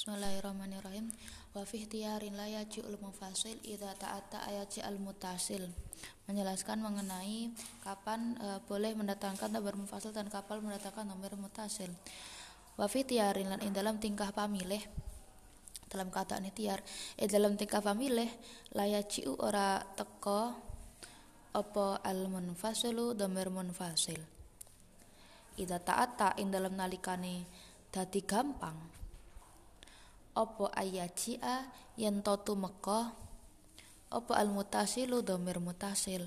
Bismillahirrahmanirrahim. Wa fi ihtiyarin la yaji'ul mufasil idza ta'atta ayaji'al mutasil. Menjelaskan mengenai kapan boleh mendatangkan dhamir mufasil dan kapan mendatangkan dhamir mutasil. Wa fi ihtiyarin lan ing dalam tingkah pamilih, dalam keadaan ikhtiar, dalam tingkah pamilih la yaji'u ora teka apa al munfasilu dhamir munfasil. Idza ta'atta ing dalam nalikane dadi gampang apa ayaji'a yen totu meka apa al mutasilu dhamir mutasil.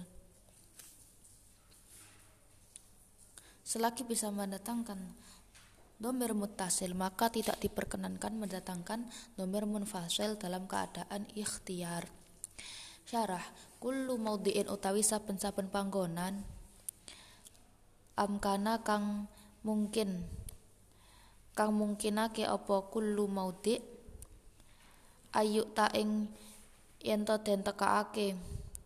Selagi bisa mendatangkan dhamir mutasil, maka tidak diperkenankan mendatangkan dhamir munfasil dalam keadaan ikhtiar. Syarah, kullu maudhi'in utawi saben-saben panggonan amkana kang mungkinake apa kullu maudhi' ayu ta ing yen to den tekaake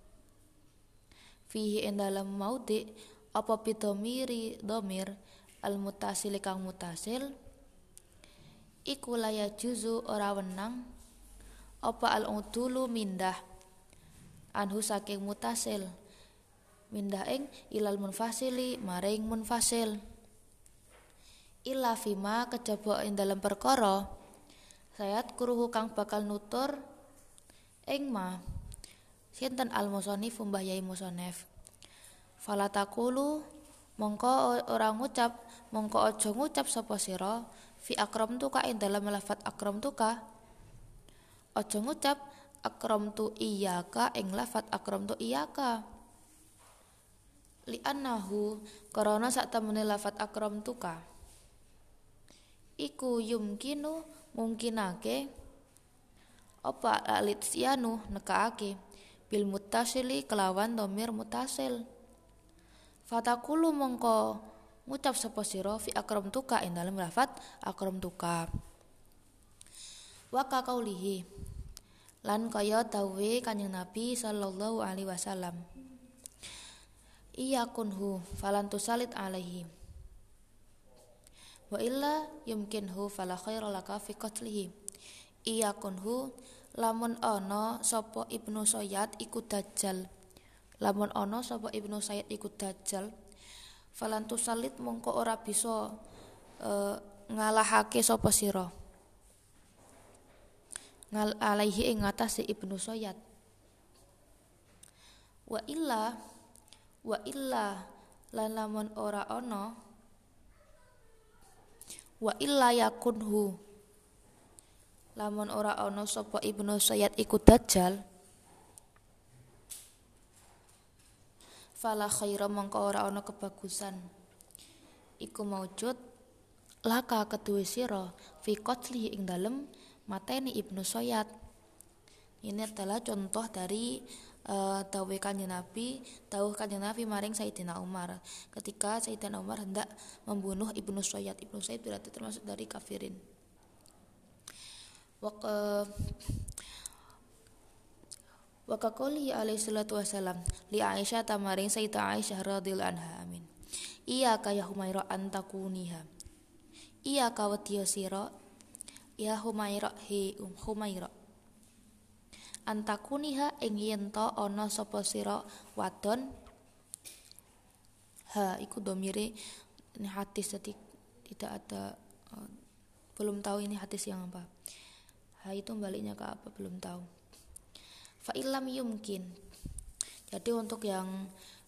fihi ing dalam maudhi' apa bidomiri dhamir al mutasil kang mutasil iku laya juzu ora wenang apa al udulu mindah anhu saking mutasil mindah ing ilal munfasili maring munfasil illa fima kejaba ing dalam perkara sayat kuruhu kang bakal nutur ing ma sinten al musannif mbah yai musannif falatakulu mongko ora ngucap mongko aja ngucap sapa sira fi akramtuka ing dalam lafat akramtuka aja ngucap akramtu iyyaka ing lafat akramtu iyyaka li annahu karana sak temene lafat akramtuka iku yumkinu mungkinake apa alitsianu nekaake bil mutasili kelawan dhamir mutasil fatakulu mongko ngucap sapa sira fi akramtuka ing dalem lafat akramtuka wa ka kaulihi lan kaya dawuhe Kanjeng Nabi sallallahu alaihi wasallam iyakunhu falan tusalit alaihi wa illa yumkinhu fala khaira laka fi qatlihi iyakunhu lamun ana sapa Ibnu Sayyad iku dajjal lamun ana sapa Ibnu Sayyad iku dajjal falan tusalit mongko ora bisa ngalahake sapa sira alaihi ing atase Ibnu Sayyad wa illa lan lamun ora ana wa illa yakunhu lamun ora ana sapa Ibnu Sayyad iku dajjal fala khaira mongko ora ana kebagusan iku maujud laka keduwe sira fi qatli ing dalem mateni Ibnu Sayyad. Ini adalah contoh dari dawuh Kanjeng Nabi maring Sayyidina Umar ketika Sayyidina Umar hendak membunuh Ibnu Sayyad. Ibnu Sayyad berarti termasuk dari kafirin. Wa qali alaihi salatu wasalam li Aisyah tamaring Sayyidah Aisyah radhiyallahu anha amin. Iya ka ya Humaira antakuniha. Iya ka wadiya sira ya Humaira Humaira antakuniha ing yen to ana sapa sira wadon ha iku domire ini hadis jadi tidak ada belum tahu ini hadis yang apa ha itu baliknya ke apa belum tahu fa illam yumkin jadi untuk yang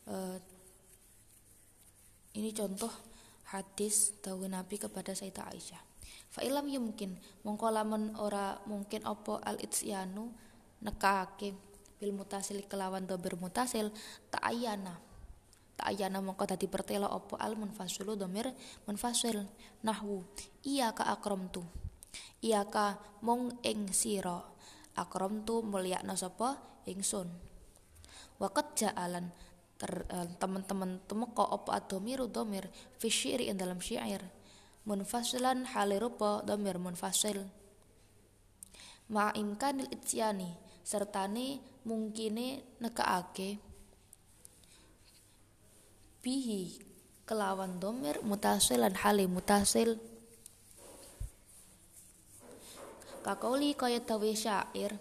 ini contoh hadis dawuh Nabi kepada Sayyidah Aisyah fa illam yumkin mongko lamun ora mungkin apa al itsyanu nekake bil mutasil kelawan dhamir mutasil ta'ayyana mongko dadi pertelo apa al munfasilu dhamir munfasil nahwu iyyaka akramtu iyyaka mung ing sira akramtu mulyakna sapa ingsun wa qad ja'alan teman-teman temeka apa ad-dhamiru dhamir fi syi'ri ing dalam syair munfasilan halirupa dhamir munfasil ma imkanil itsyani sertane mungkine nekaake bihi kelawan dhamir mutasil lan hale mutasil Kakauli kaya dawe syair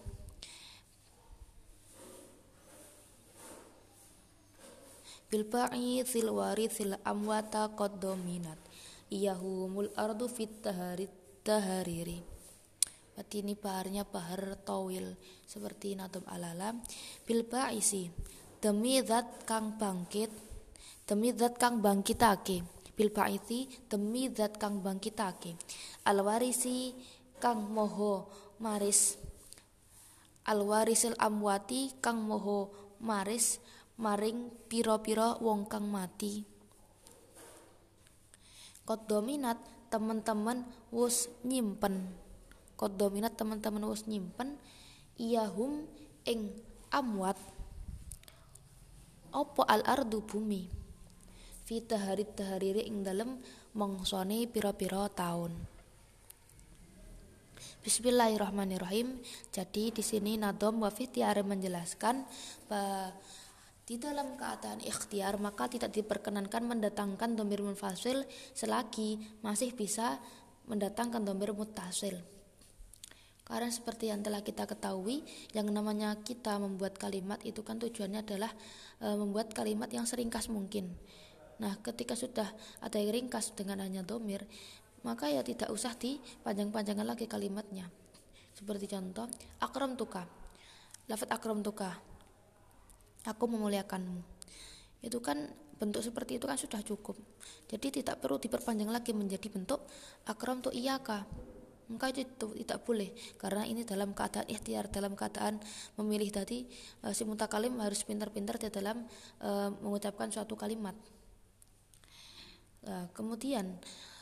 bil ba'ithil warithil amwata qad dominat iyahumul ardu fit tahariri. Ini baharnya bahar tawil seperti nadom alalam. Bil ba'isi demi zat kang bangkit, demi zat kang bangkitake. Bil ba'isi demi zat kang bangkitake. Al warisi kang moho maris, al warisil amwati kang moho maris maring pira-pira wong kang mati. Qad dominat teman-teman wus nyimpen. Qad dominat teman-teman wus nyimpen iyahum ing amwat opo al ardu bumi fi tahariri ing dalem mongsone pira-pira taun. Bismillahirrahmanirrahim. Jadi di sini Nadom wa fi tiare menjelaskan bahwa di dalam keadaan ikhtiar maka tidak diperkenankan mendatangkan dhamir munfasil selagi masih bisa mendatangkan dhamir muttasil. Karena seperti yang telah kita ketahui, yang namanya kita membuat kalimat itu kan tujuannya adalah membuat kalimat yang seringkas mungkin. Nah, ketika sudah ada yang ringkas dengan hanya dhamir, maka ya tidak usah dipanjang-panjangkan lagi kalimatnya. Seperti contoh, akram tuka. Lafaz akram tuka, aku memuliakanmu. Itu kan bentuk seperti itu kan sudah cukup. Jadi tidak perlu diperpanjang lagi menjadi bentuk akram tu iyaka. Maka itu tidak boleh, karena ini dalam keadaan ikhtiar, dalam keadaan memilih tadi si mutakalim harus pintar-pintar di dalam mengucapkan suatu kalimat. Kemudian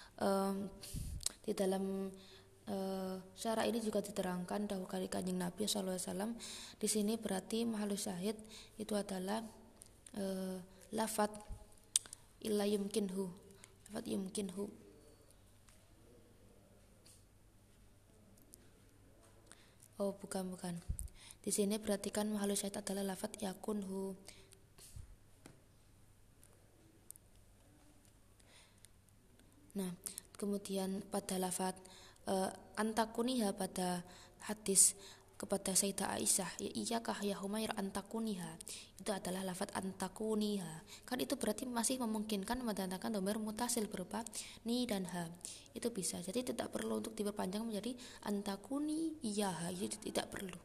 di dalam syarah ini juga diterangkan dahulu kali Kanjeng Nabi SAW. Di sini berarti mahalus syahid itu adalah lafat illa yumkinhu, lafat yumkinhu. Oh bukan. Di sini perhatikan mahalus syahid adalah lafat yakunhu. Nah, kemudian pada lafat antakuniha pada hadis kepada Sayyidah Aisyah, ya iyakah ya Humair antakuniha, itu adalah lafat antakuniha. Kan itu berarti masih memungkinkan mendatangkan dhamir mutasil berupa ni dan ha. Itu bisa. Jadi tidak perlu untuk diperpanjang menjadi antakuni iyaha, itu tidak perlu.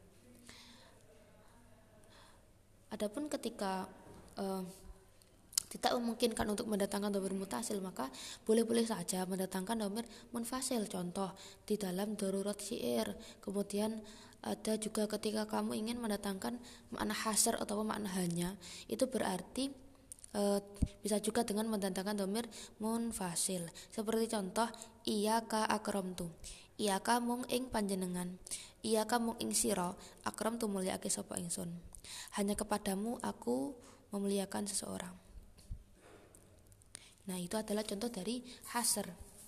Adapun ketika tidak memungkinkan untuk mendatangkan dhamir mutasil, maka boleh-boleh saja mendatangkan dhamir munfasil. Contoh di dalam darurat syair. Kemudian ada juga ketika kamu ingin mendatangkan makna hasr atau makna hanya, itu berarti bisa juga dengan mendatangkan dhamir munfasil. Seperti contoh iyyaka akramtu, iyyaka mung ing panjenengan, iyyaka mung ing sira, akramtu mulyakake sapa ingsun. Hanya kepadamu aku memuliakan seseorang. Nah, itu adalah contoh dari hasr.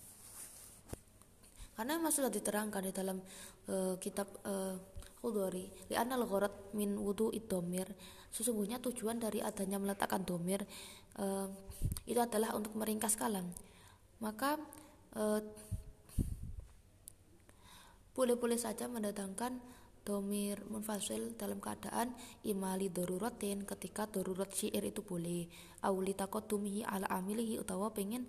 Karena memang sudah diterangkan di dalam kitab Khudhari, li'anal gharad min wudu'id dhamir, sesungguhnya tujuan dari adanya meletakkan dhamir itu adalah untuk meringkas kalam. Maka boleh-boleh saja mendatangkan dhamir munfasil dalam keadaan imali daruratin, ketika darurat syair itu boleh, auli taqaddumihi ala amilihi, utawa pengen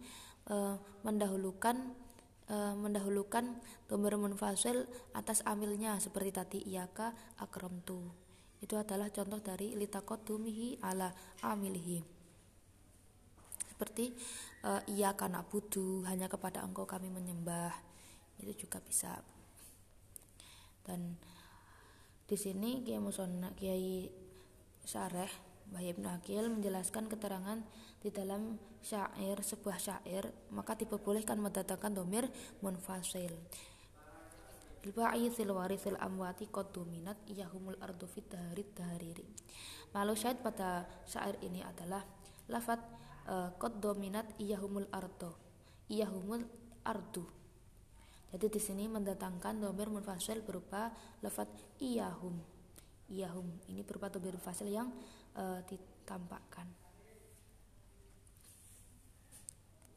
mendahulukan dhamir munfasil atas amilnya, seperti tadi iyyaka akramtu. Itu adalah contoh dari litaqaddumihi ala amilihi. Seperti iyyaka na'budu, hanya kepada engkau kami menyembah. Itu juga bisa. Dan di sini Kiai Syareh Bahya Ibnu Aqil menjelaskan keterangan di dalam syair, sebuah syair, maka diperbolehkan mendatangkan dhamir munfasil. Al-ba'ithil warithil amwati qad dominat iyahumul ardu fit tahariri. Lalu syahid pada syair ini adalah lafaz qad dominat iyahumul ardu. Jadi di sini mendatangkan dhamir munfasil berupa lafaz iyahum. Iyahum ini berupa dhamir munfasil yang ditampakkan.